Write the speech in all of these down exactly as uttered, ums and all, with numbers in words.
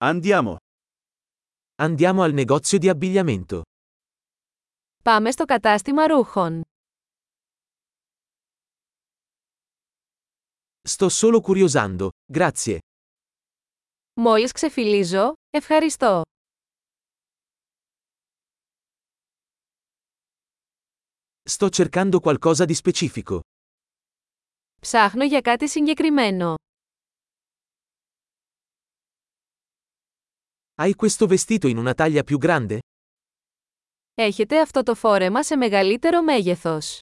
Andiamo. Andiamo al negozio di abbigliamento. Πάμε στο κατάστημα ρούχων. Sto solo curiosando, grazie. Μόλις ξεφυλίζω, ευχαριστώ. Sto cercando qualcosa di specifico. Ψάχνω για κάτι συγκεκριμένο. Hai questo vestito in una taglia più grande? Έχετε αυτό το φόρεμα σε μεγαλύτερο μέγεθος.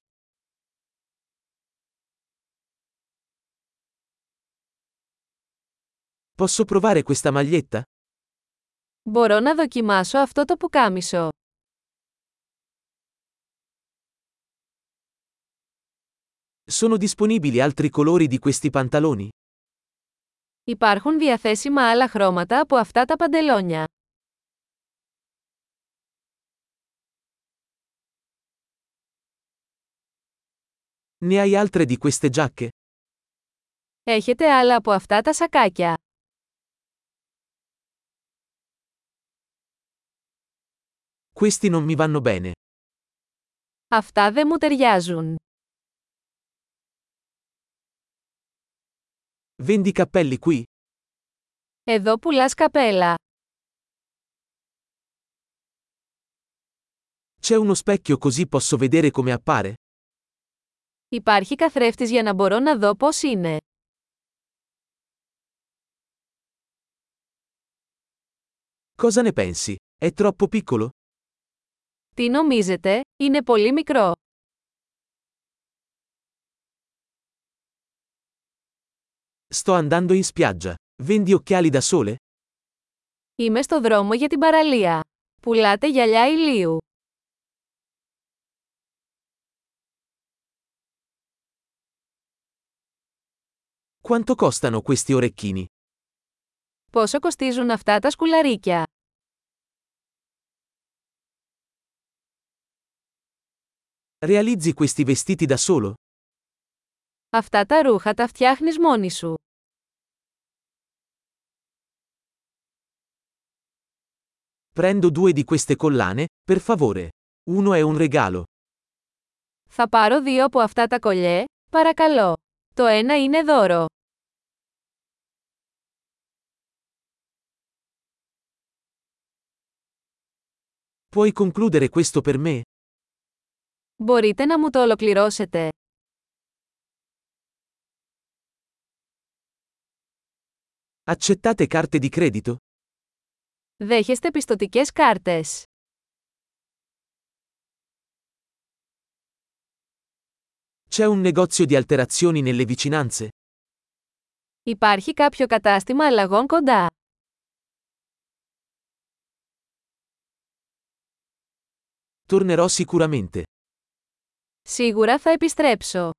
Posso provare questa maglietta? Μπορώ να δοκιμάσω αυτό το πουκάμισο. Sono disponibili altri colori di questi pantaloni? Υπάρχουν διαθέσιμα άλλα χρώματα από αυτά τα παντελόνια. Ne hai altre di queste giacche? Έχετε άλλα από αυτά τα σακάκια. Questi non mi vanno bene. Αυτά δεν μου ταιριάζουν. Vendi cappelli qui? Εδώ πουλάς καπέλα. C'è uno specchio così posso vedere come appare? Υπάρχει καθρέφτης για να μπορώ να δω πώς είναι. Cosa ne pensi? È troppo piccolo? Τι νομίζετε, είναι πολύ μικρό. Sto andando in spiaggia. Vendi occhiali da sole? Είμαι στο δρόμο για την παραλία. Πουλάτε γυαλιά ηλίου. Quanto costano questi orecchini? Πόσο κοστίζουν αυτά τα σκουλαρίκια? Realizzi questi vestiti da solo? Αυτά τα ρούχα τα φτιάχνεις μόνη σου. Prendo due di queste collane, per favore. Uno è un regalo. Θα πάρω δύο από αυτά τα κολιέ, παρακαλώ. Το ένα είναι δώρο. Puoi concludere questo per me? Μπορείτε να μου το ολοκληρώσετε? Accettate carte di credito? Δέχεστε πιστωτικές κάρτες? C'è un negozio di alterazioni nelle vicinanze? Υπάρχει κάποιο κατάστημα αλλαγών κοντά? Tornerò sicuramente. Σίγουρα θα επιστρέψω.